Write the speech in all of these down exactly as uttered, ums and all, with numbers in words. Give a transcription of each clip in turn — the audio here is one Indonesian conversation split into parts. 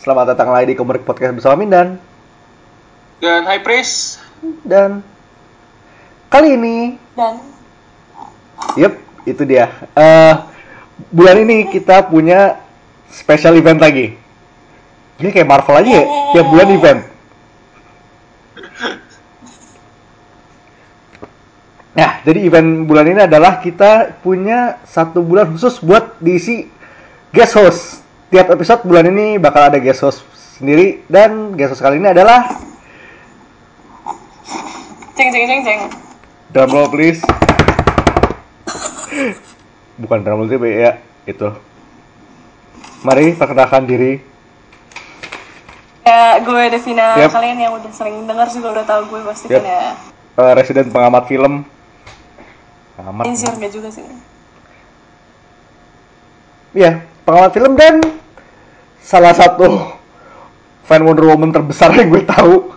Selamat datang lagi di Komerik Podcast bersama Mindan dan High Priest. Dan kali ini Dan Yep, itu dia uh, bulan ini kita punya special event lagi. Ini kayak Marvel aja ya, tiap bulan event. Nah, jadi event bulan ini adalah kita punya satu bulan khusus buat diisi guest host. Tiap episode bulan ini bakal ada guest host sendiri, dan guest host kali ini adalah ceng ceng ceng ceng. drum roll please. Bukan drum roll tapi ya itu. Mari perkenalkan diri. Ya, gue Devina. Yep. Kalian yang udah sering dengar juga udah tahu gue pasti Yep. kan ya. Uh, residen pengamat film. Pengamat. Insir nggak juga sih. Iya, pengamat film dan salah satu fan Wonder Woman terbesar yang gue tahu.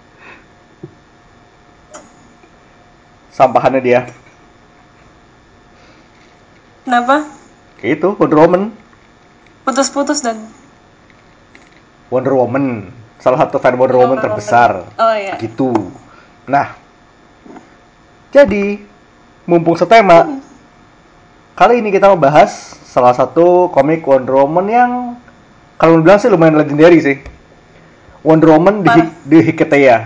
Sampahannya dia. Kenapa? Kayak itu, Wonder Woman. Putus-putus dan. Wonder Woman, salah satu fan Wonder Woman terbesar. Oh iya. Gitu. Nah, jadi mumpung setema, kali ini kita mau bahas salah satu komik Wonder Woman yang kalau bilang sih lumayan legendary sih. Wonder Woman di, di Hiketeia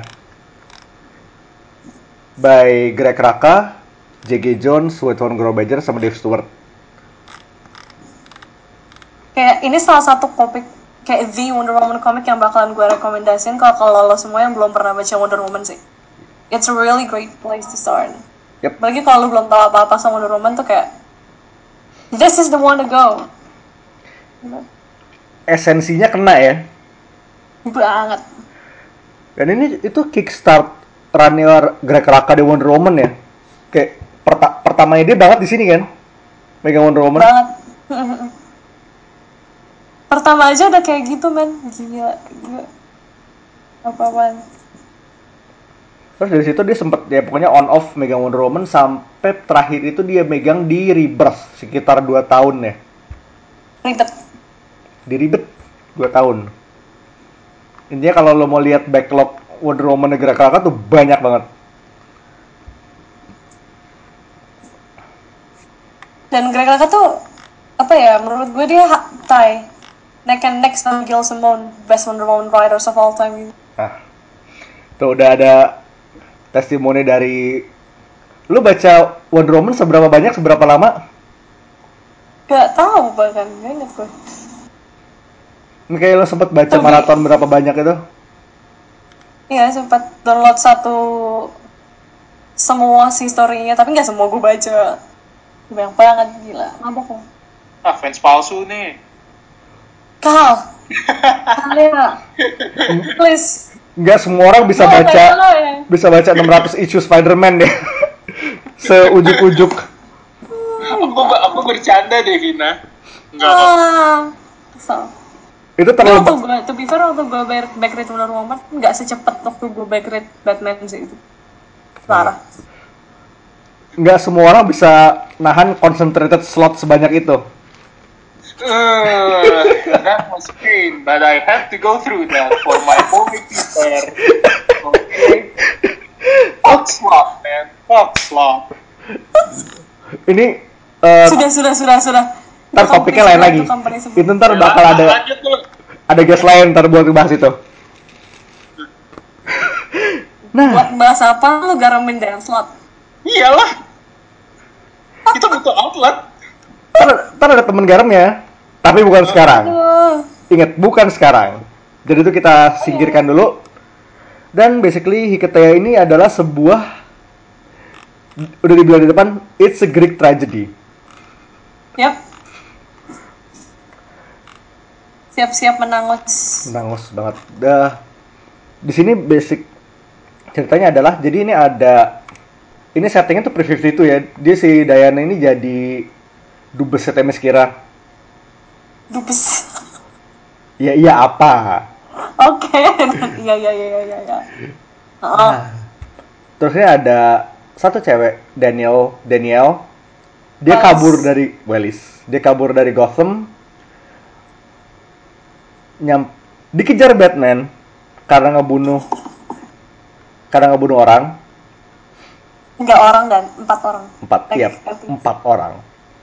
by Greg Rucka, J G Jones, Wayton Grobager, sama Dave Stewart. Kayak ini salah satu komik kayak the Wonder Woman komik yang bakalan gue rekomendasiin kalau kalau lo semua yang belum pernah baca Wonder Woman sih. It's a really great place to start. Yep. Apalagi kalau lo belum tahu apa-apa sama Wonder Woman tuh kayak this is the one to go. Esensinya kena ya. Banget. Dan ini itu kickstart runner Greg Rucka di Wonder Woman ya. Kayak perta- pertamanya dia banget di sini kan, megang Wonder Woman. Banget. Pertama aja udah kayak gitu men, gila, gila. Apa-apaan. Terus dari situ dia sempet ya pokoknya on off megang Wonder Woman sampai terakhir itu dia megang di Rebirth sekitar dua tahun ya. Ribet. Di Rebirth dua tahun. Intinya kalau lo mau lihat backlog Wonder Woman Greg Rucka tuh banyak banget. Dan Greg Rucka tuh apa ya, menurut gue dia ha- tie neck and neck sama Gail Simone, best Wonder Woman writers of all time. Nah, tuh udah ada testimoni dari lu baca Wonder Woman seberapa banyak, seberapa lama? Gak tahu bahkan, gak inget gue. Ini kayak lo sempet baca Tapi- maraton berapa banyak itu? Iya, sempat download satu semua si story-nya, tapi nggak semua gue baca. Banyak banget, gila. Mabok lo. Ah, fans palsu nih. Kal, kalian, please. Nggak semua orang bisa Gue baca kayak lo ya. bisa baca enam ratus issue Spider-Man ya. Seujuk-ujuk. Aku aku bercanda deh, Vina. Enggak kok. Ah, kesel. Itu Tapi terlalu waktu gue, to be fair, waktu gue back, back read Wonder Woman nggak secepat waktu gue back read Batman sih itu. Parah. nggak semua orang bisa nahan concentrated slot sebanyak itu. Uh, that was pain, but I had to go through that for my movie teacher. Okay. Fuck slot, man. Fuck slot. Ini eh, Sudah, sudah, sudah, sudah. ntar Itu topiknya company lain sebelah, lagi. itu company sebelah. Itu ntar Ya, bakal ada lanjut dulu. ada guest lain ntar buat bahas itu. Nah, Buat bahas apa lu garamin dance slot? Iyalah. Kita butuh outlet. ntar, ntar ada temen garamnya, tapi bukan sekarang. Aduh. Ingat, bukan sekarang. Jadi itu kita singkirkan dulu. Dan basically Hiketeia ini adalah sebuah, udah dibilang di depan, it's a Greek tragedy. Yap. Siap-siap menangus. Menangus banget. Dah. Di sini basic ceritanya adalah, jadi ini ada, ini settingnya tuh pre lima puluh dua ya. Dia si Diana ini jadi dubes Themyscira. Dubes. Ya iya apa? Oke. Iya, iya, iya, iya, iya. Oh. Nah, terus ini ada satu cewek, Daniel, Daniel. Dia Wells. kabur dari Wellis. Dia kabur dari Gotham. Nyam, dikejar Batman karena ngebunuh karena ngebunuh orang. Enggak orang dan empat orang. Empat, Like, iya, I think. empat orang.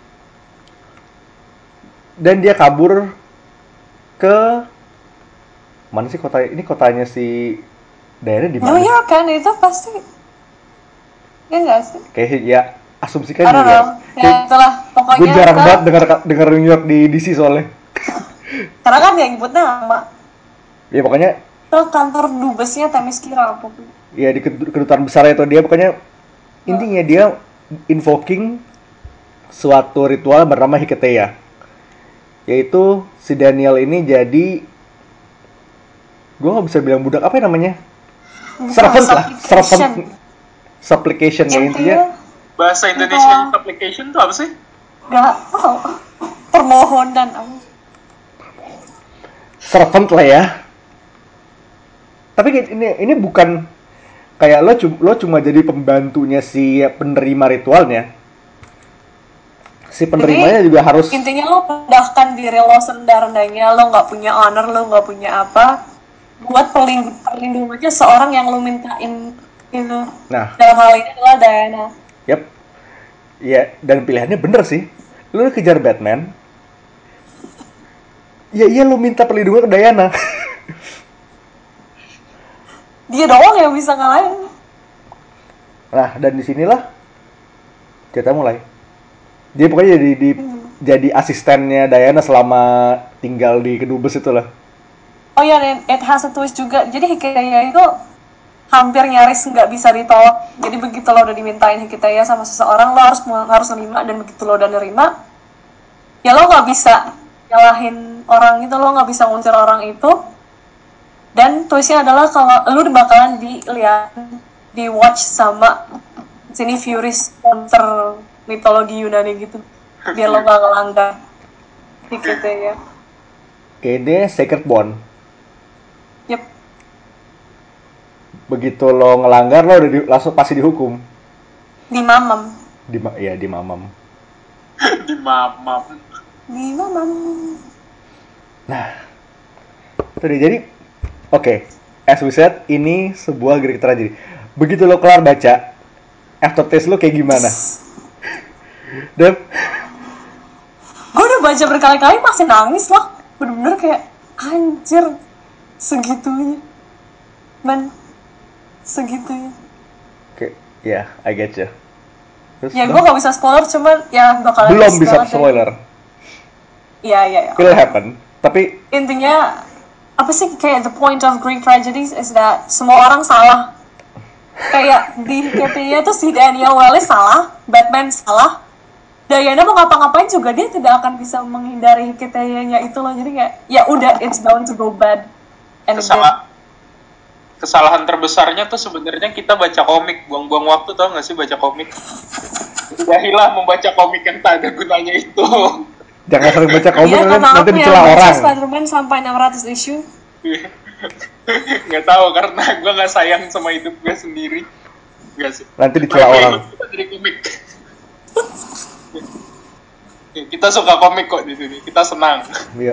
Dan dia kabur ke mana sih kota ini kotanya si Diana di New mana? York kan itu pasti. Ya enggak sih? Kayak ya asumsikan I don't New York. know. Ya itulah pokoknya. Gue jarang ke- banget dengar dengar New York di D C soalnya. Karena kan dia nyebut nama. Ya pokoknya Ke kantor dubesnya Themyscira pokoknya. ya di kedut- kedutaan besar itu dia pokoknya intinya dia invoking suatu ritual bernama Hiketeia. Yaitu si Daniel ini jadi gue nggak bisa bilang budak apa ya namanya? Bukan, Servant lah, supplication. servant supplication ya intinya. Intinya Bahasa Indonesia application itu apa sih? nggak tahu. Permohonan apa? Servant lah ya. Tapi ini ini bukan kayak lo cuma lo cuma jadi pembantunya si penerima ritualnya. Si penerimanya juga harus Intinya lo pendahkan diri lo serendah-rendahnya, lo nggak punya honor, lo nggak punya apa, buat pelindung perlindungannya seorang yang lo mintain gitu. Nah, Dalam hal ini adalah Diana. yep. Ya, dan pilihannya bener sih. Lo kejar Batman. Ya iya lo minta perlindungan ke Diana. Dia doang yang bisa ngalahin. Nah, dan disinilah cerita mulai. Dia pokoknya jadi di, jadi asistennya Diana selama tinggal di kedubes itu lah. Oh ya, dan it has a twist juga. Jadi Hiketeia itu hampir nyaris nggak bisa ditolak. Jadi begitu lo udah dimintain Hiketeia sama seseorang, lo harus harus nerima, dan begitu lo udah nerima, ya lo nggak bisa nyalahin orang itu, lo nggak bisa ngusir orang itu. Dan twistnya adalah kalau lo bakalan dilihat, di watch sama sini Furies, monster mitologi Yunani gitu, biar lo gak ngelanggar Hiketeia. Kayak dia Sacred Bond. Yep. Begitu lo ngelanggar lo udah di, langsung pasti dihukum. Di mamam. Di ya di mamam. Di mamam. Di mamam. Nah, itu dia. Jadi, oke, okay. As we said, ini sebuah Greek tragedy. Begitu lo kelar baca, aftertaste lo kayak gimana? Dev? Gue udah baca berkali-kali masih nangis loh. Bener-bener kayak anjir segitunya. Man, segitunya. Oke, okay. ya, yeah, I get you. Terus, Ya gue gak bisa spoiler, cuman ya bakalan belum bisa banget spoiler. Iya, iya, iya. Will happen. Tapi Intinya apa sih, kayak the point of Greek tragedies is that semua orang salah. Kayak di Hiketeia tuh si Daniel Welles salah, Batman salah, Diana mau ngapa-ngapain juga dia tidak akan bisa menghindari Hiketeia-nya itu loh. Jadi kayak ya udah, it's bound to go bad. And it did. Kesalahan, kesalahan terbesarnya tuh sebenarnya kita baca komik, buang-buang waktu, tau gak sih baca komik? Udahilah membaca komik yang tak ada gunanya itu. jangan sering baca komik, Iya, nanti, karena nanti aku dicela yang baca orang. Spider-Man sampai enam ratus issue. Nggak tahu karena gue nggak sayang sama hidup gue sendiri. Nggak sih. Nanti dicela Oke, orang. Kita dari komik. Kita suka komik kok di sini. Kita senang. Iya.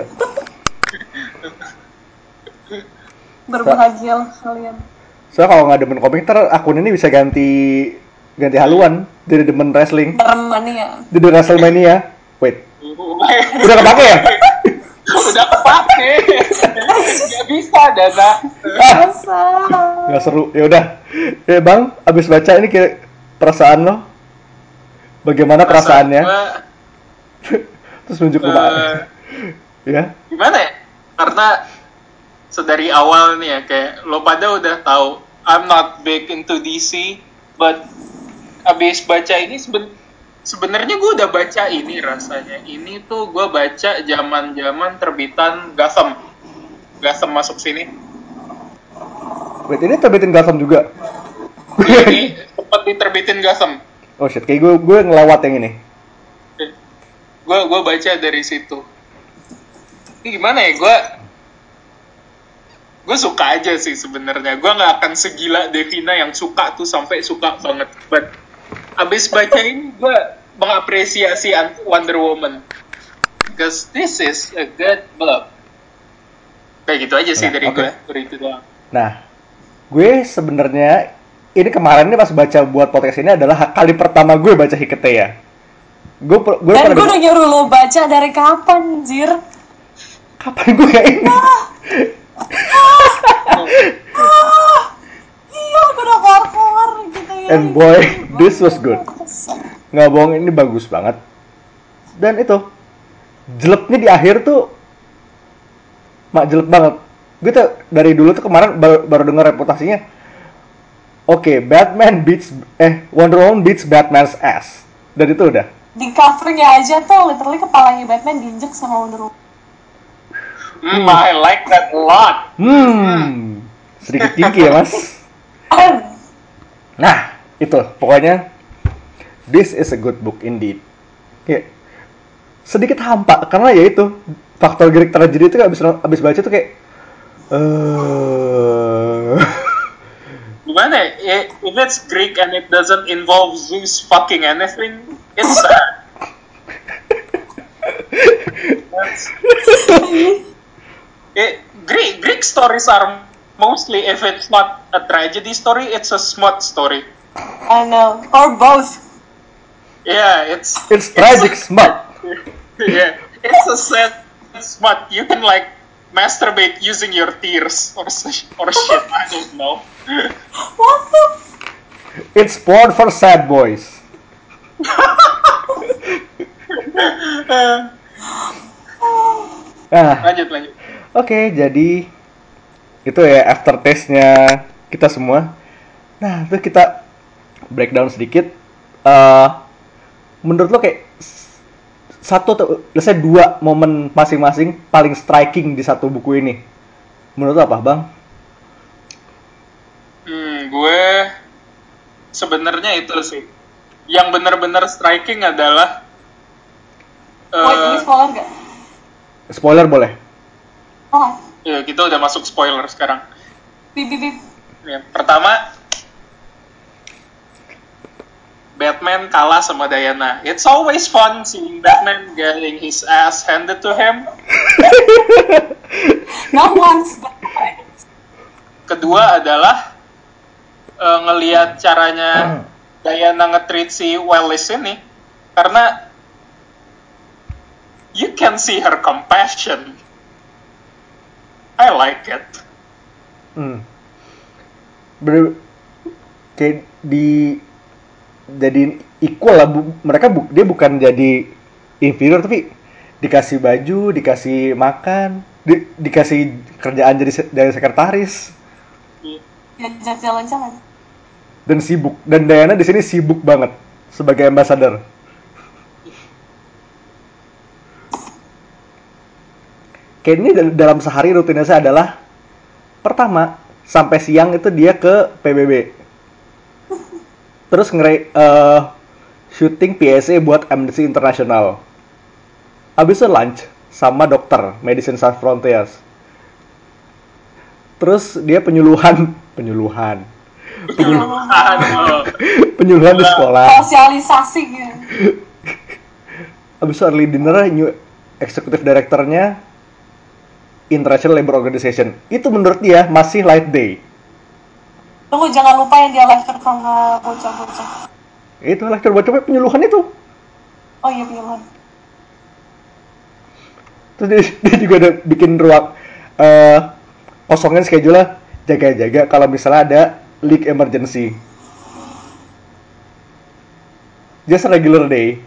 Berbahagialah kalian. Soalnya kalau nggak demen komik, ntar akun ini bisa ganti ganti haluan jadi demen wrestling. Bermania. Jadi WrestleMania. Wait, udah kepake ya? Udah kepake. Nggak bisa, Dana. Masa. Nggak seru. Ya udah. Eh bang, abis baca ini kayak perasaan lo? Bagaimana perasaannya? Gua, Terus nunjuk ke eh, Pak. Ya. gimana ya? Karena sedari awal nih ya, kayak lo pada udah tahu I'm not big into D C, but abis baca ini seben sebenarnya gue udah baca ini rasanya. Ini tuh gue baca zaman-zaman terbitan Gotham. Gotham masuk sini. Wait, ini terbitin Gotham juga? Ini sempat diterbitin Gotham. Oh shit, kayak gue gue ngelewat yang ini. Gue gue baca dari situ. Ini gimana ya, gue gue suka aja sih sebenarnya. Gue nggak akan segila Devina yang suka tuh sampai suka banget. But abis baca ini gue mengapresiasi Wonder Woman because this is a good book. Kayak gitu aja sih Nah, dari oke. gue, dari itu doang. Nah, gue sebenarnya ini kemarin nih pas baca buat podcast ini adalah kali pertama gue baca Hiketeya. Gue per- gue Dan pernah gue denger- udah nyuruh lo baca dari kapan, Jir? kapan gue gak ingat. Iya, gue udah keluar-keluar gitu ya. And boy, this was good. Nggak bohong, ini bagus banget. Dan itu jelepnya di akhir tuh mak jelek banget. Gue tuh dari dulu tuh kemarin baru, baru dengar reputasinya. Oke, Batman beats eh Wonder Woman beats Batman's ass. Dan itu udah. Di covernya aja tuh literally kepalanya Batman diinjek sama Wonder Woman. Hmm, I like that a lot. Hmm, sedikit tinggi ya mas. Nah, itu pokoknya this is a good book indeed. Kayak sedikit hampa karena ya itu faktor Greek tragedy itu abis abis baca tuh kayak eh Gimana ya? If it's Greek and it doesn't involve Zeus fucking anything, it's sad. That's, it, Greek Greek stories are mostly, if it's not a tragedy story, it's a smut story. I know, or both. Yeah, it's it's tragic smut. Yeah, it's a sad smut. You can like masturbate using your tears or s- or shit. I don't know. What the? It's porn for sad boys. Ah, Lanjut lanjut. oke, jadi itu ya aftertaste-nya kita semua. Nah, itu kita breakdown sedikit. Eh, menurut lo kayak s- satu atau let's say dua momen masing-masing paling striking di satu buku ini. Menurut lo apa, Bang? Hmm, gue sebenarnya itu sih. Yang benar-benar striking adalah Wait, ini eh spoiler gak? Spoiler boleh. Oh, ya, kita udah masuk spoiler sekarang. bip bip bip. Ya, pertama Batman kalah sama Diana. It's always fun seeing Batman getting his ass handed to him. Not once, but twice. Kedua adalah uh, ngelihat caranya Diana nge-treat si Wallace ini, karena you can see her compassion. I like it. Hmm. Ber kayak di jadi equal lah bu, mereka bu, dia bukan jadi inferior tapi dikasih baju, dikasih makan, di, dikasih kerjaan jadi se- dari sekretaris Diajak jalan-jalan. dan sibuk. Dan Diana di sini sibuk banget sebagai ambassador. Kayak ini dal- dalam sehari rutinitasnya adalah pertama sampai siang itu dia ke P B B. Terus ngere eh, syuting P S A buat Amnesty International. Habis itu lunch sama dokter Medicine Sans Frontiers. Terus dia penyuluhan, penyuluhan, Aduh. penyuluhan di sekolah. Sosialisasi gitu. Habis itu early dinner, new executive directornya International Labour Organization. Itu menurut dia masih light day. Tunggu, jangan lupa yang dia lecture sama bocah-bocah. Itu lecture buat coba penyuluhan itu. Oh iya, pilihan. Terus dia, dia juga ada bikin ruang eh kosongin schedule jaga-jaga kalau misalnya ada leak emergency. Just a regular day.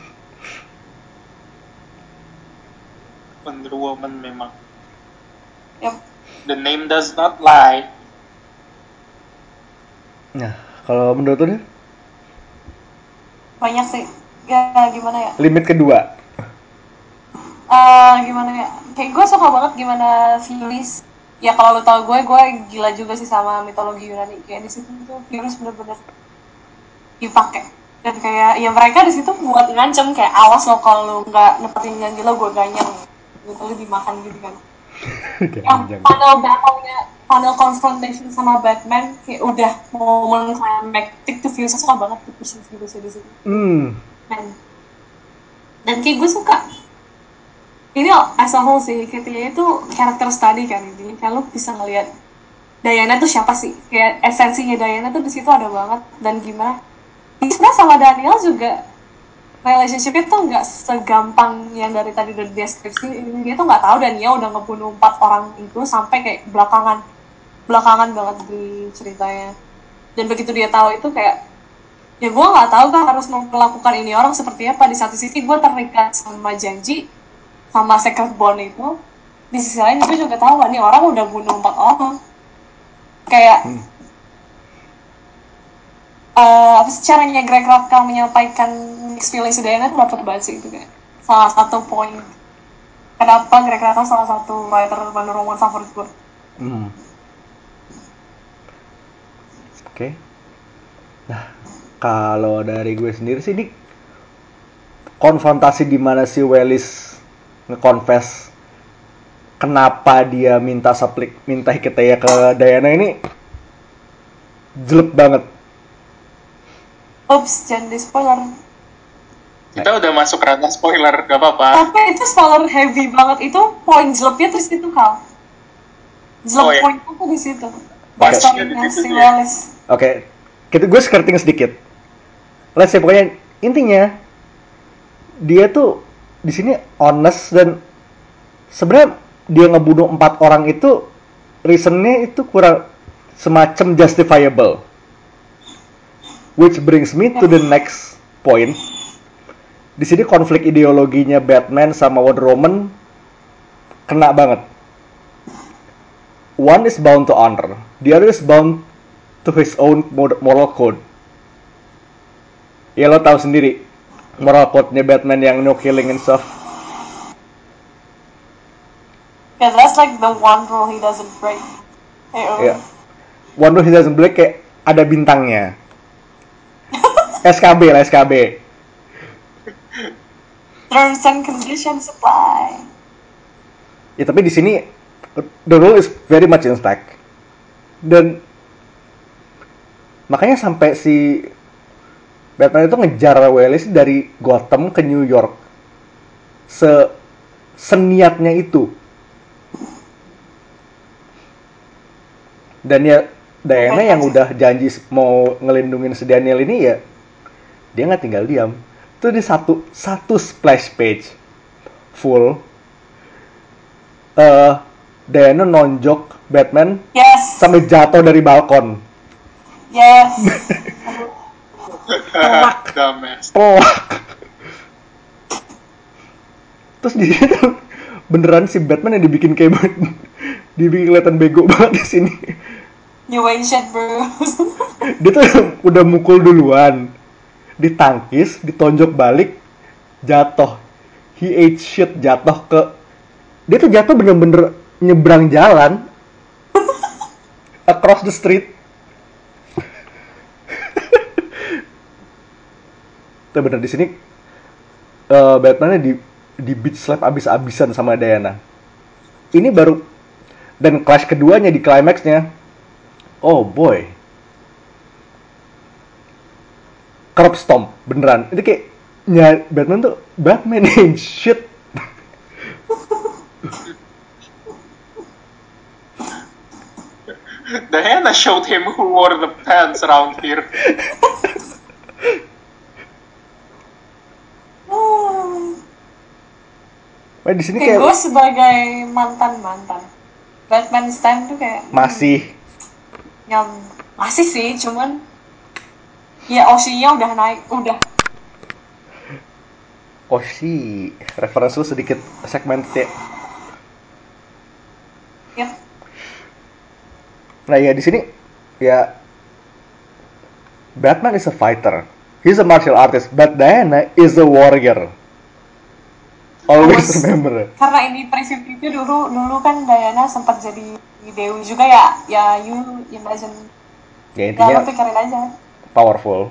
Wonder Woman memang. Yep. The name does not lie. Nah, kalau menurut lu Banyak sih. Ya, gimana ya? limit kedua. Eh gimana ya? Kayak gue suka banget gimana Filis. Ya kalau lu tau gue, gue gila juga sih sama mitologi Yunani. Kayak di situ tuh Filis bener-bener dipakai. Dan kayak ya mereka di situ buat ngancem kayak awas lo kalau lu nggak nepetin janji lo gue ganyang. Gitu lu dimakan gitu kan. Yang panel battle-nya, panel confrontation sama Batman kayak udah momen climactic tuh Filis suka banget tuh Filis di situ. Hmm. Dan dan kayak gue suka ini as a whole sih, Hikitaya itu character study kan ini. Kan lu bisa ngelihat Diana tuh siapa sih? Kayak esensinya Diana tuh di situ ada banget, dan gimana? Sebenarnya sama Daniel juga relationship itu nggak segampang yang dari tadi udah deskripsi. Dia tuh nggak tahu Daniel udah ngebunuh empat orang itu sampai kayak belakangan belakangan banget di ceritanya. Dan begitu dia tahu itu kayak, ya gue nggak tahu kan harus melakukan ini orang seperti apa. Di satu sisi gue terikat sama janji sama secret bond itu, di sisi lain gue juga tahu nih orang udah bunuh empat orang. Kayak Hmm. uh, apa sih caranya Greg Rucka menyampaikan mixed feelings Diana tuh dapat banget sih itu kayak salah satu poin kenapa Greg Rucka salah satu writer Wonder Woman favorit gue. Hmm. Oke. Okay. Nah, kalau dari gue sendiri sih ini konfrontasi di mana si Wellis nge-confess kenapa dia minta suplik minta Hikitaya ke Diana ini jelek banget. Oops, jangan di spoiler. Kita udah masuk ranah spoiler, gak apa-apa. Tapi itu spoiler heavy banget, itu poin jeleknya terus itu Kal. Jelek Oh, ya. poin aku di situ. Backstory-nya Backstory-nya di situ si ya. Wellis. Oke, okay. Kita gue skirting sedikit. Let's say pokoknya intinya dia tuh di sini honest dan sebenarnya dia ngebunuh empat orang itu reasonnya itu kurang semacam justifiable. Which brings me to the next point. Di sini konflik ideologinya Batman sama Wonder Woman kena banget. One is bound to honor, the other is bound to his own moral code. Ya lo tahu sendiri moral code-nya Batman yang no killing and stuff. Yeah, that's like the one rule he doesn't break. Hey, oh. Ya. One rule he doesn't break kayak ada bintangnya. S K B lah, S K B. Terms and conditions apply. Ya tapi di sini the rule is very much intact. Dan makanya sampai si Batman itu ngejar Wellis dari Gotham ke New York. Se seniatnya itu. Dan ya Diana yang udah janji mau ngelindungin si Daniel ini ya dia nggak tinggal diam. Itu di satu satu splash page full uh, Diana nonjok Batman Yes. sampai jatuh dari balkon. Yes. Telak. Dumbass. Telak. Terus di situ beneran si Batman yang dibikin kayak dibikin kelihatan bego banget di sini. You ain't shit, bro. Dia tuh udah mukul duluan, ditangkis, ditonjok balik, jatuh. He ate shit, jatuh ke... Dia tuh jatuh bener-bener nyebrang jalan. Across the street. Tuh bener di sini uh, Batman-nya di di beat slap abis-abisan sama Diana. Ini baru dan clash keduanya di climax-nya. Oh boy. Curb stomp beneran. Itu kayak ya Batman tuh Batman ain't shit. Diana showed him who wore the pants around here. Wah, di sini Kayak kayak gue sebagai mantan-mantan Batman Stan tuh kayak masih hmm, yang masih sih, cuman ya O C-nya udah naik, udah. oh sih referensi lu sedikit segmented ya. Yep. Nah ya di sini ya Batman is a fighter, he's a martial artist, but Diana is a warrior. Always Terus, remember. karena ini preview-preview dulu dulu kan Diana sempat jadi dewi juga ya, ya you imagine. Ya Ya intinya lo pikirin aja. powerful.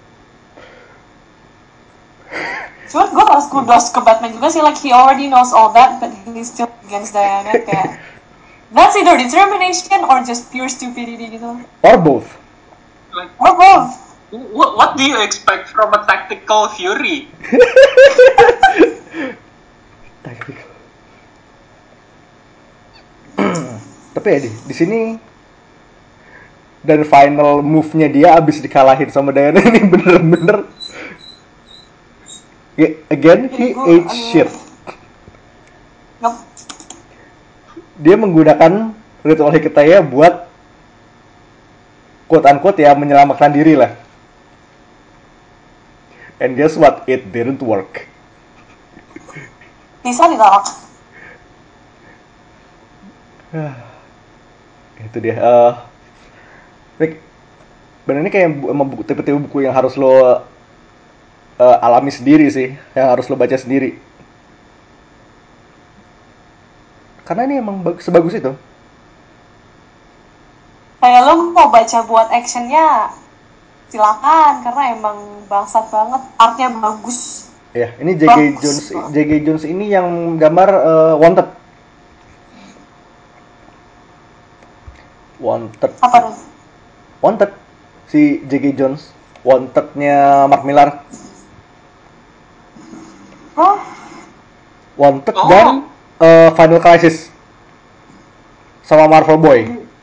Cuman gue harus kudos ke Batman juga sih, like he already knows all that, but he's still against Diana. Kayak that's either determination or just pure stupidity gitu. Or both. Like, Or both. what, what do you expect from a tactical Fury? Tactical. Tapi ya di, di sini dan final move-nya dia abis dikalahin sama Diana ini bener-bener ya, again he Gue, ate aduh. shit. Yup. Dia menggunakan ritual Hecate buat quote unquote ya menyelamatkan diri lah. And guess what? It didn't work. Bisa ditolak. Itu dia. Uh, Rick, bener ini kayak bu- emang buku, tipe-tipe buku yang harus lo uh, alami sendiri sih, yang harus lo baca sendiri. Karena ini emang bag- sebagus itu. Kayak lo mau baca buat actionnya, silakan karena emang bangsat banget, artnya bagus. Ya, ini J K. Bagus. Jones, J K. Jones ini yang gambar uh, Wanted. Wanted. Apa tuh? Wanted. Si J K. Jones. Wanted-nya Mark Millar. Oh, Wanted Oh. dan uh, Final Crisis. Sama Marvel Boy.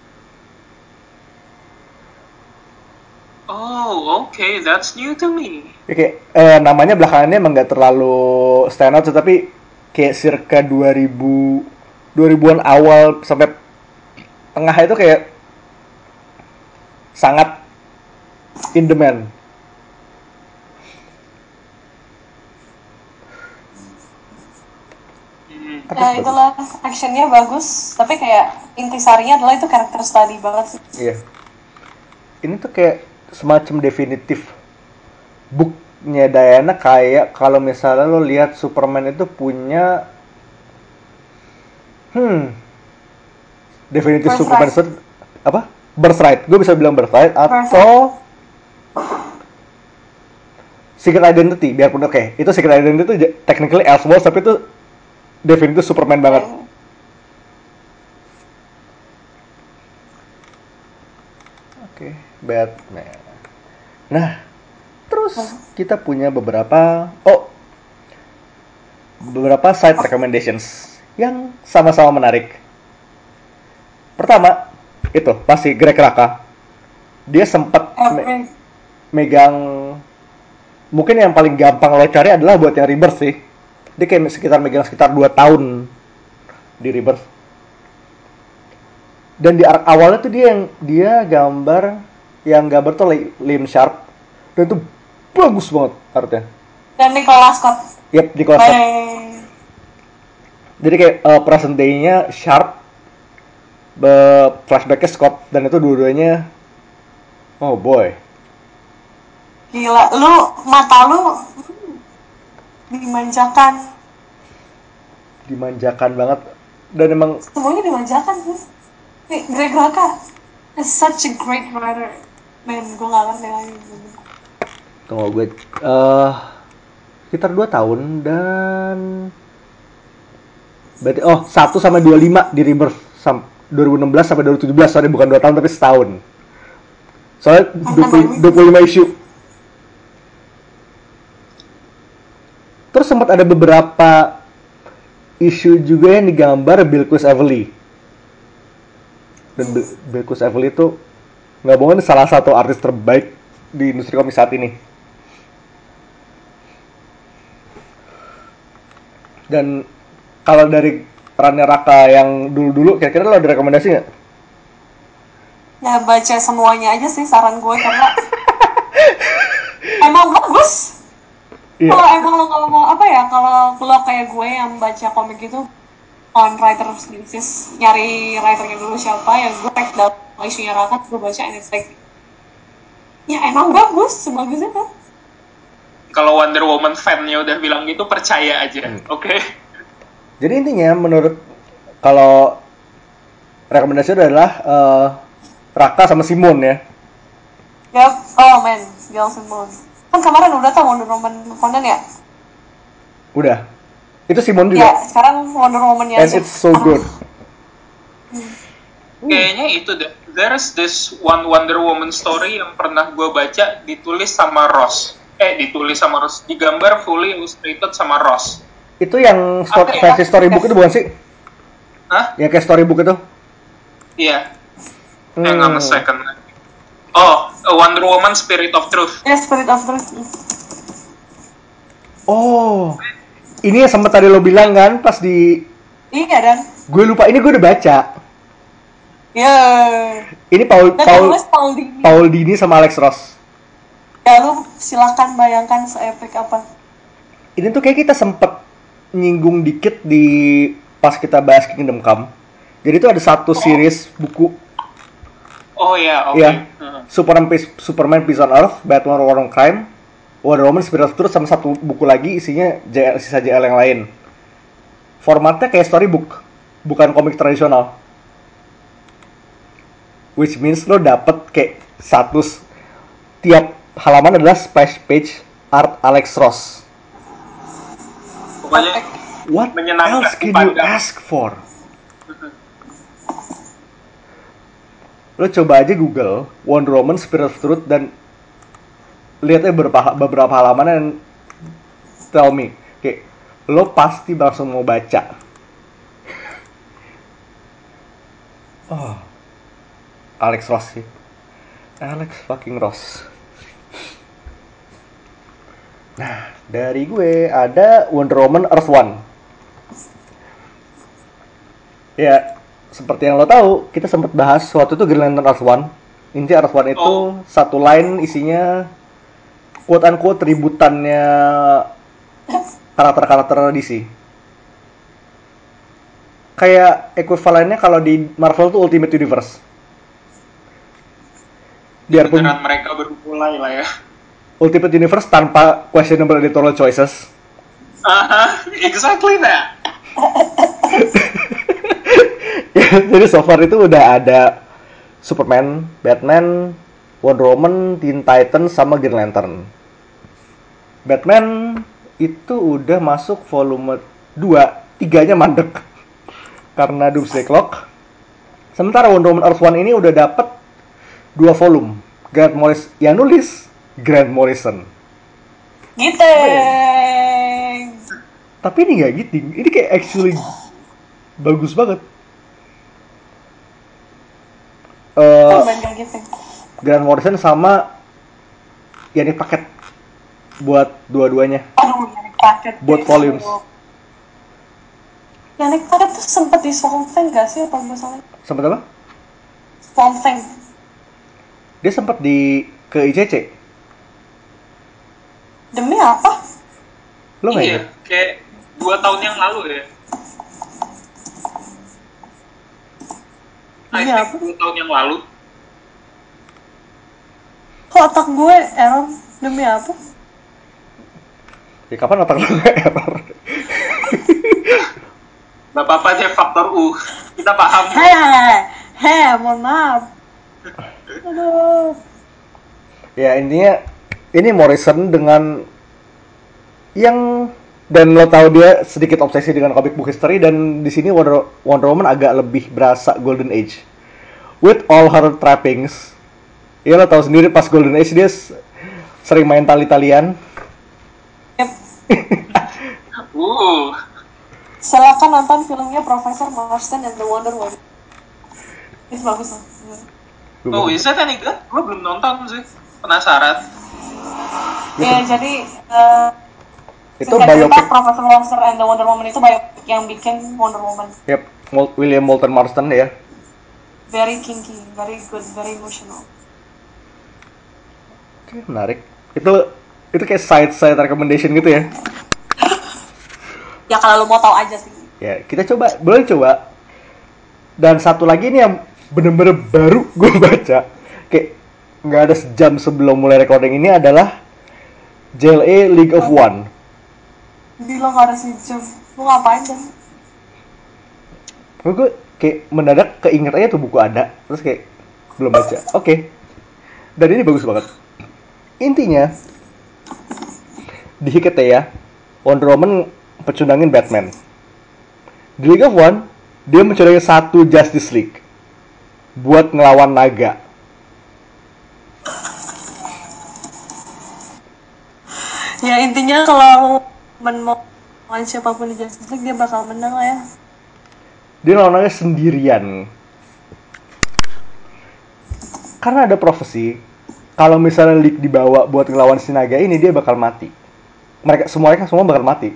Oh, okay, that's new to me. Ya, kayak eh, namanya belakangannya emang nggak terlalu stand out, tapi kayak circa dua ribu dua ribuan awal sampai tengah itu kayak sangat in demand. Hmm. Apa ya sih bagus? itulah actionnya bagus, tapi kayak intisarinya adalah itu karakter study banget sih. Iya. Ini tuh kayak semacam definitif booknya Diana, kayak kalau misalnya lo lihat Superman itu punya hmm definitif Birthright. Superman set- apa? Birthright. Gue bisa bilang Birthright atau Secret Identity, biarpun oke, okay, itu Secret Identity itu j- technically Elseworlds, tapi itu definitif Superman banget. Oke, okay, Batman. Nah, terus kita punya beberapa oh beberapa side recommendations yang sama-sama menarik. Pertama, itu pasti Greg Rucka. Dia sempat me- megang, mungkin yang paling gampang lo cari adalah buat yang Rebirth sih. Dia kayak sekitar megang sekitar dua tahun di Rebirth. Dan di arc awalnya tuh dia yang dia gambar yang gambar tuh Liam Sharp, dan itu bagus banget artnya. Dan Nicholas Scott. Yep, Nicholas Scott. Bye. Jadi kayak uh, present day-nya Sharp, be- flashback-nya Scott, dan itu dua-duanya oh boy. Gila, lu mata lu hmm, dimanjakan. Dimanjakan banget, dan emang Semuanya dimanjakan sih. Nih, Greg Rucka is such a great writer. Man, gue gak ngerti lagi. tunggu gue uh, sekitar dua tahun, dan berarti oh satu sampai dua puluh lima di Rebirth, sam- dua ribu enam belas sampai dua ribu tujuh belas, sorry bukan dua tahun tapi setahun. Soalnya dua puluh, dua puluh lima issue. Terus sempat ada beberapa issue juga yang digambar Bilquis Evely. Dan Bil- Bilquis Evely itu nggak bohong salah satu artis terbaik di industri komik saat ini. Dan kalau dari perannya Raka yang dulu-dulu, kira-kira lo ada rekomendasi nggak? Ya baca semuanya aja sih saran gue karena emang bagus. Iya. Kalau emang lo kalau mau apa ya, kalau lo kayak gue yang baca komik itu on writer's basis, nyari writernya dulu siapa ya, gue cek dalam isunya Raka, gue baca and it's like ya emang bagus, sebagus itu. Kalau Wonder Woman fan-nya udah bilang gitu, percaya aja, Hmm. oke? Okay? Jadi intinya menurut, kalau rekomendasi adalah uh, Raka sama Simon ya. Yep. Oh man, Gail Simone. Kan kemarin udah tau Wonder Woman Conan ya? Udah. Itu Simon Ya, juga. sekarang Wonder Woman-nya And aja. it's so good. Kayaknya itu deh. There's this one Wonder Woman story yang pernah gue baca, ditulis sama Ross. Eh, ditulis sama Ross. Digambar fully illustrated sama Ross. Itu yang sto- Apa ya? versi storybook itu bukan sih? Hah? Yang kayak storybook itu? Iya. Hmm. Hang on a second. Oh, uh, Wonder Woman Spirit of Truth. Ya, Spirit of Truth. Oh, ini yang sempat tadi lo bilang kan pas di... Iya dan. Gue lupa, ini gue udah baca. Ya. Ini Paul Dan Paul nulis Paul Dini. Paul Dini sama Alex Ross. Ya lu silakan bayangkan seepik apa. Ini tuh kayak kita sempet nyinggung dikit di pas kita bahas Kingdom Come. Jadi itu ada satu series buku. Oh iya, oke. Ya, Uh. Superman Peace, Superman Peace on Earth, Batman War on Crime, Wonder Woman Spirit of Truth, sama satu buku lagi isinya J L, sisa J L yang lain. Formatnya kayak storybook, bukan komik tradisional. Which means lo dapet kayak satu tiap halaman adalah splash page art Alex Ross. Pokoknya What menyenangkan else can you dipandang. ask for? Lo coba aja Google Wonder Woman Spirit of Truth dan lihatnya beberapa beberapa halaman dan tell me, kayak lo pasti langsung mau baca. Oh, Alex Ross sih, Alex fucking Ross. Nah, dari gue ada Wonder Woman Earth One. Ya, seperti yang lo tahu, kita sempat bahas waktu itu Green Lantern Earth One. Inti Earth One itu Oh. satu line isinya quote unquote ributannya karakter-karakter D C. Kayak ekuivalennya kalau di Marvel tuh Ultimate Universe. Biarpun Beneran mereka baru mulai lah ya. Ultimate Universe tanpa questionable editorial choices. Aha, exactly that. Ya, jadi so far itu udah ada Superman, Batman, Wonder Woman, Teen Titans, sama Green Lantern. Batman itu udah masuk volume dua, tiganya mandek karena Doomsday Clock. Sementara Wonder Woman Earth One ini udah dapet dua volume. Grant Morrison yang nulis Grant Morrison. Gitu. Tapi ini nggak gitu, ini kayak actually bagus banget. Uh, Coba kayak gitu. Grant Morrison sama yang ini paket buat dua-duanya. Aduh, Yannick Paket. Buat volumes. Yannick Paket tuh sempet di Swamp Thing gak sih apa gue salah? Sempet apa? Swamp Thing. Dia sempet di ke I C C. Demi apa? Lo nggak Iya, inget? kayak dua tahun yang lalu ya. I Demi think apa? dua tahun yang lalu. Kok otak gue error? Demi apa? Ya kapan otak lo nggak error? Gak apa-apa deh, faktor U. Kita paham. Heh, heh, mohon maaf. Aduh. Ya intinya ini Morrison dengan yang dan lo tahu dia sedikit obsesi dengan comic book history, dan di sini Wonder, Wonder Woman agak lebih berasa Golden Age with all her trappings. Ya lo tahu sendiri pas Golden Age dia s- sering main tali-talian. Yep. Uh, Silakan nonton filmnya Profesor Marston and the Wonder Woman. Itu bagus loh. oh, is that any good? Gue belum nonton sih. Penasaran. Ya, jadi uh, Itu singkat cerita biopic. Profesor Marston and the Wonder Woman itu biopic yang bikin Wonder Woman. Yep, Mol- William Moulton Marston ya. Very kinky, very good, very emotional. Oke, menarik. Itu itu kayak side side recommendation gitu ya. Ya kalau lo mau tahu aja sih. Ya, kita coba, boleh coba. Dan satu lagi nih yang bener-bener baru gue baca, kayak nggak ada sejam sebelum mulai recording ini, adalah J L A League of One. Bilang gak ada si Jum. Lo ngapain kan? Gue kayak mendadak keinget aja tuh buku ada, terus kayak belum baca. Oke. Dan ini bagus banget. Intinya di Hikateya, Wonder Woman pecundangin Batman. Di League of One, dia mencuri satu Justice League buat ngelawan naga. Ya intinya kalau men mau lawan siapapun di Justice League dia bakal menang lah ya. Dia lawannya sendirian. Karena ada profesi, kalau misalnya League dibawa buat ngelawan si naga ini, dia bakal mati. Mereka semuanya kan semua bakal mati.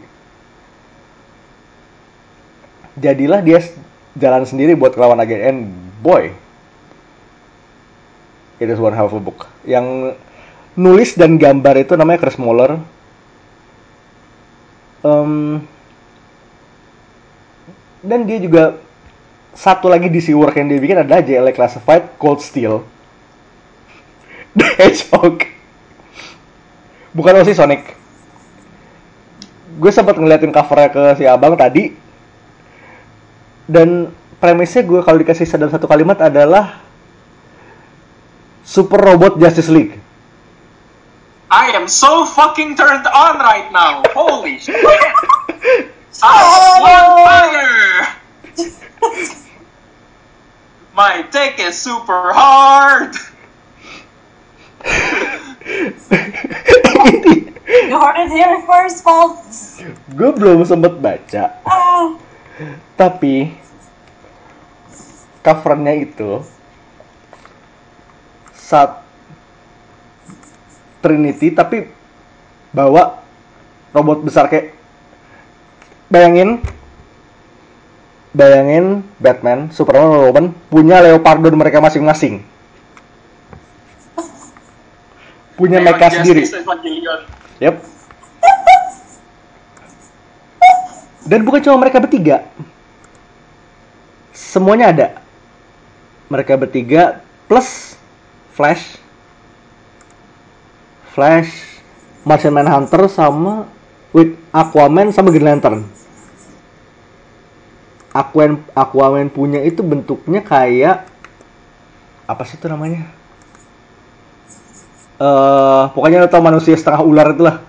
Jadilah dia jalan sendiri buat ngelawan naga, and boy, it is one hell of a book. Yang nulis dan gambar itu namanya Chris Moeller. Um, dan dia juga satu lagi D C work yang dia bikin adalah J L A Classified Cold Steel. The Hedgehog. Bukan Osi Sonic. Gue sempat ngeliatin covernya ke si abang tadi. Dan premisnya gue kalau dikasih dalam satu kalimat adalah Super Robot Justice League. I am so fucking turned on right now. Holy shit. I'm on fire. My take is super hard. You heard it here first, folks. Gue belum sempet baca. Ah. Tapi covernya itu saat Trinity tapi bawa robot besar kayak bayangin bayangin Batman, Superman, Wonder Woman punya Leopardon mereka masing-masing. Punya mecha sendiri. Yep. Dan bukan cuma mereka bertiga. Semuanya ada. Mereka bertiga plus Flash. Flash, Martian Manhunter sama with Aquaman sama Green Lantern. Aquaman Aquaman punya itu bentuknya kayak apa sih itu namanya? Eh, uh, pokoknya lo tau manusia setengah ular itulah.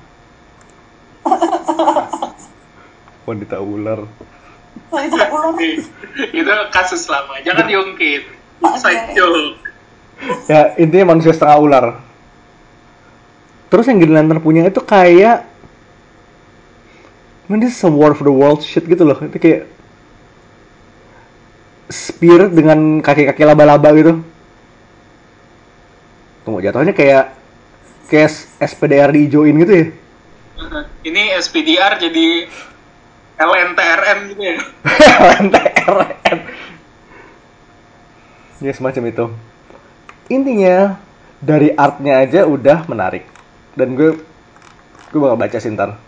Wanita ular. Wanita ular. Itu kasus lama, jangan diungkit. Side joke. Ya, intinya manusia setengah ular. Terus yang Green Lantern punya itu kayak man, this is some War for the World shit gitu loh. Itu kayak spear dengan kaki-kaki laba-laba gitu. Tunggu, jatuhnya kayak kayak S P D R diijoin gitu ya. Ini S P D R jadi L N T R M gitu ya. L N T R M. Ya semacam itu. Intinya dari artnya aja udah menarik. Dan gue gue bakal baca sih ntar.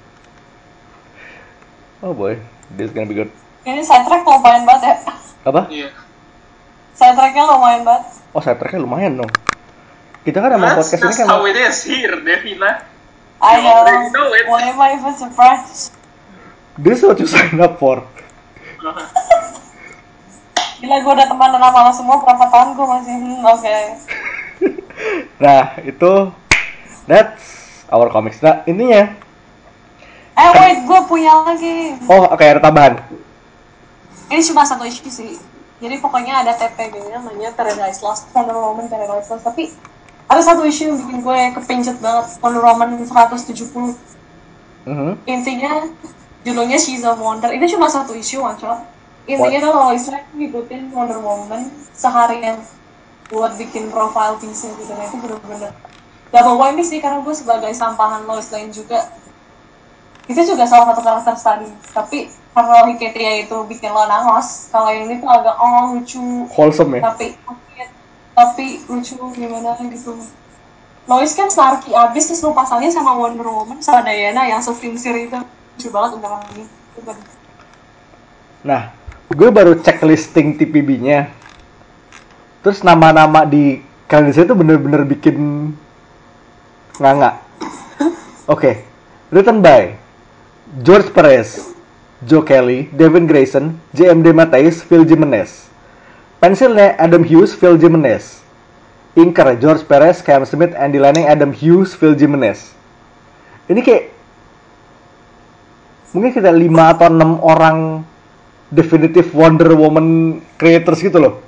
Oh boy, this is gonna be good. Ini soundtrack lumayan banget ya. Apa? Iya. Soundtracknya lumayan banget. Oh, soundtracknya lumayan dong. Kita kan emang That's podcast ini just kan how it is here, Devina. I You already know know. it. Why am I even surprised? this is what you sign up for. Gila, gue udah temenan sama lo semua berapa tahun gue masih hmm, oke. Okay. Nah, itu that's our comics. Nah, intinya Eh wait, gue punya lagi. oh, oke okay, ada tambahan. Ini cuma satu issue sih. Jadi pokoknya ada T P B-nya namanya Paradise Lost, Wonder Woman Paradise Lost. Tapi ada satu issue yang bikin gue kepincut banget, Wonder Woman seratus tujuh puluh. Mm-hmm. Intinya judulnya She's a Wonder. Ini cuma satu issue, one shot. Intinya kalau Islam ngikutin Wonder Woman seharian buat bikin profile piece gitu. Nah itu bener-bener double whammy sih, karena gue sebagai sampahan Lois Lane juga. Itu juga salah satu karakter study. Tapi kalau Hiketia itu bikin lo nangos, kalau yang ini tuh agak oh lucu, Wholesome ya. tapi tapi lucu gimana gitu. Lois kan snarky abis, terus lo pasangnya sama Wonder Woman sama Diana yang sefinsir itu lucu banget udah lagi. Nah, gue baru cek listing T P B-nya. Terus nama-nama di kandidat itu bener-bener bikin nganga. Oke, okay. Written by George Perez, Joe Kelly, Devin Grayson, J M D Mattheis, Phil Jimenez. Pensilnya Adam Hughes, Phil Jimenez. Inker George Perez, Cam Smith, Andy Lanning, Adam Hughes, Phil Jimenez. Ini kayak mungkin kita lima atau enam orang definitive Wonder Woman creators gitu loh.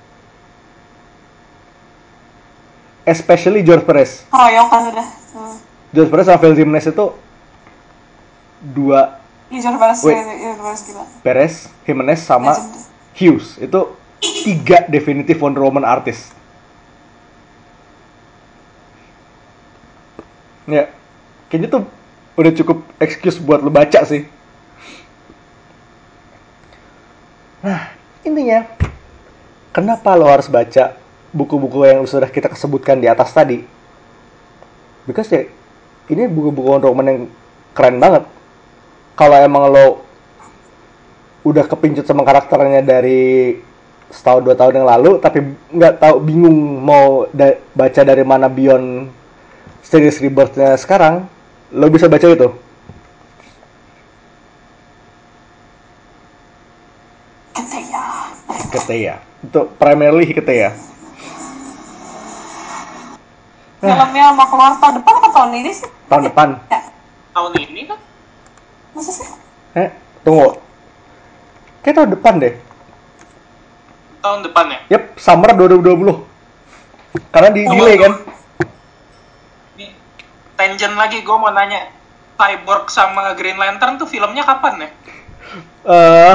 Especially George Perez. Keroyokan udah. Hmm. George Perez sama Phil Jimenez itu dua. Iya, George Perez, Wait. George Perez gila. Perez, Jimenez sama Legend. Hughes. Itu tiga definitif Wonder Woman artis. Ya, kayaknya tuh udah cukup excuse buat lo baca sih. Nah, intinya kenapa lo harus baca buku-buku yang sudah kita sebutkan di atas tadi? Because ya, ini buku-buku Wonder Woman yang keren banget. Kalau emang lo udah kepincut sama karakternya dari setahun dua tahun yang lalu, tapi nggak tahu, bingung mau da- baca dari mana Beyond series Rebirth-nya sekarang, lo bisa baca itu. Keteya. Keteya. Itu primarily Keteya. Filmnya mau keluar tahun depan atau tahun ini sih? Tahun depan. Ya, Tahun ini kan? masa sih? Eh, tunggu. Kayak tahun depan deh. Tahun depan ya? Yep, summer dua ribu dua puluh. Karena di Oh, delay kan. Ini tangent lagi, gue mau nanya. Cyborg sama Green Lantern tuh filmnya kapan ya? Eh,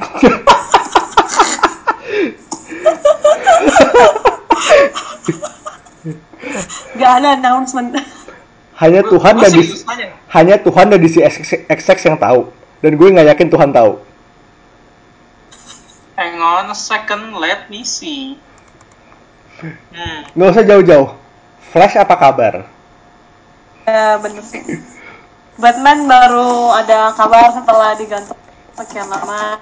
Gak ada announcement. hanya Gua- Tuhan gua dan di, serius nanya. hanya Tuhan dan D C X X yang tahu. Dan gue nggak yakin Tuhan tahu. Hang on a second, let me see. Hmm. Nggak usah jauh-jauh. Flash apa kabar? Ya bener sih. Batman baru ada kabar setelah digantung sekian lama.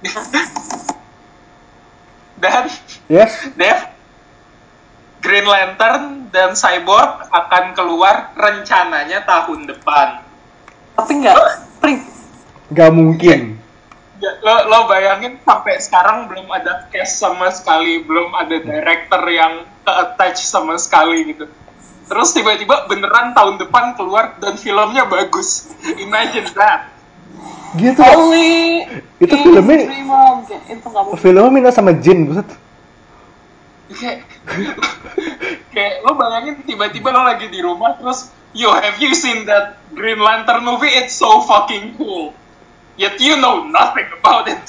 Dan Yes. Dev, Green Lantern dan Cyborg akan keluar rencananya tahun depan. Tapi nggak, Pring. Nggak mungkin. Ya, lo, lo bayangin sampai sekarang belum ada cast sama sekali, belum ada director yang ke-attach sama sekali gitu. Terus tiba-tiba beneran tahun depan keluar dan filmnya bagus. Imagine that. Gitu. Only Itu in filmnya- Dreamland. Itu nggak mungkin. Filmnya minta sama Jin, buset. Kayak, kayak lo bayangin tiba-tiba lo lagi di rumah terus, yo, have you seen that Green Lantern movie? It's so fucking cool. Yet you know nothing about it.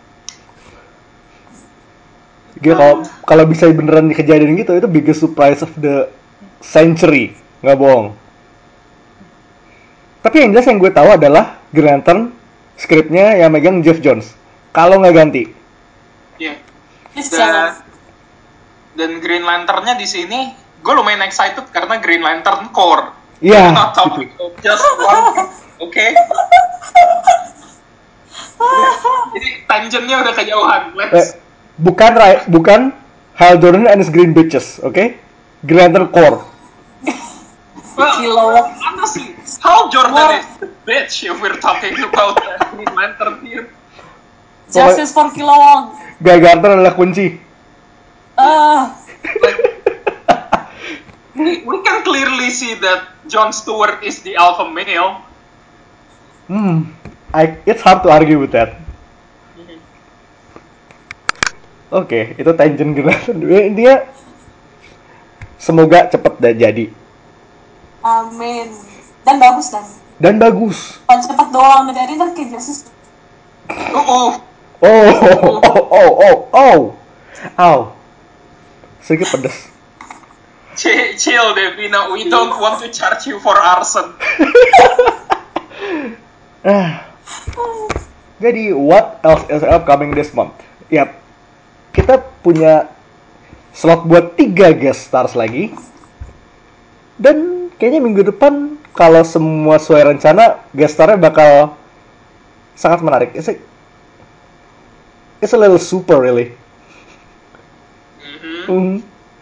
Gila, kalau kalau bisa beneran kejadian gitu, itu biggest surprise of the century, nggak bohong. Tapi yang jelas yang gue tahu adalah Green Lantern skripnya yang megang Jeff Jones. Kalau nggak ganti, Iya. Please Dan, jangan. dan Green Lantern-nya di sini, gue lumayan excited karena Green Lantern Core. Iya, We're not talking gitu. about just one, oke? Okay? Jadi tangentnya udah kejauhan. Eh, Let's. bukan Rai- bukan Hal Jordan and his Green Bitches, oke? Green Lantern Core. Well, Kilowog. honestly, Hal Jordan War. is the bitch if we're talking about uh, Green Lantern here. Justice for Kilowog. Guy Gardner adalah kunci. Ah, Like, we, we can clearly see that Jon Stewart is the alpha male. Hmm, I, it's hard to argue with that. Oke, itu tangent Green Lantern. Intinya semoga cepet dah jadi amin. Dan bagus kan? dan bagus. Kalau cepat doang dari ntar kayak Justice. Oh, oh. Oh, oh, oh, oh, oh, oh, ow, sedikit pedas. Ch- chill, Devina. We don't want to charge you for arson. Ah. Jadi, what else is upcoming this month? Yap, kita punya slot buat tiga guest stars lagi. Dan kayaknya minggu depan, kalau semua sesuai rencana, guest starnya bakal sangat menarik. It's a, it's a little super, really. Mhm. Hmm.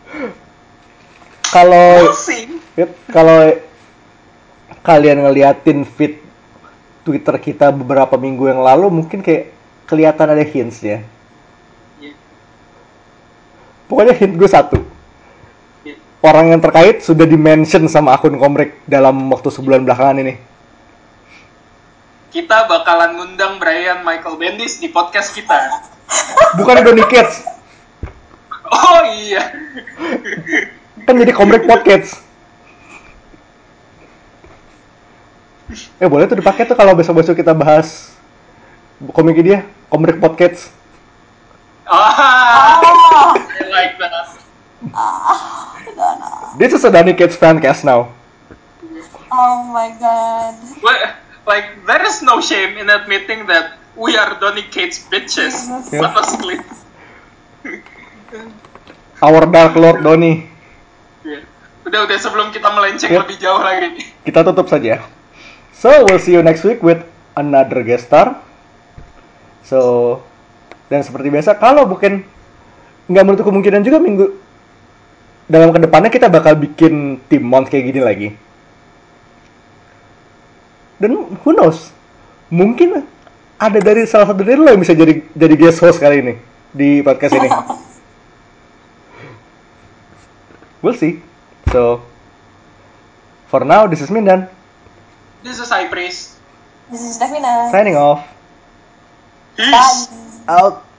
Kalau We'll see. Yep, kalau kalian ngeliatin feed Twitter kita beberapa minggu yang lalu, mungkin kayak kelihatan ada hints-nya. Yeah. Pokoknya hint gue satu. Yeah. Orang yang terkait sudah di-mention sama akun Komrek dalam waktu sebulan belakangan ini. Kita bakalan ngundang Brian Michael Bendis di podcast kita. Bukan Donny Cates, Oh iya. kan jadi Komrek Podcast. Eh boleh tuh dipakai tuh kalau besok-besok kita bahas komik dia, Komrek Podcast. Ah, Oh, I like that. This is a Donny Kids fancast now. oh my god. Well, like, there is no shame in admitting that we are Donny Cates bitches. Jesus. Yeah. Honestly. Our Dark Lord Donny. Yeah. Udah, udah sebelum kita melenceng Yep. lebih jauh lagi nih. Kita tutup saja. So, we'll see you next week with another guest star. So, dan seperti biasa, kalau bukan nggak menutup kemungkinan juga minggu dalam kedepannya kita bakal bikin tim Mons kayak gini lagi. Dan who knows, mungkin ada dari salah satu dari lo yang bisa jadi jadi guest host kali ini di podcast ini. We'll see. So, for now, this is Mindan This is High Priest. This is Davina. signing off. Peace. Bye. Out.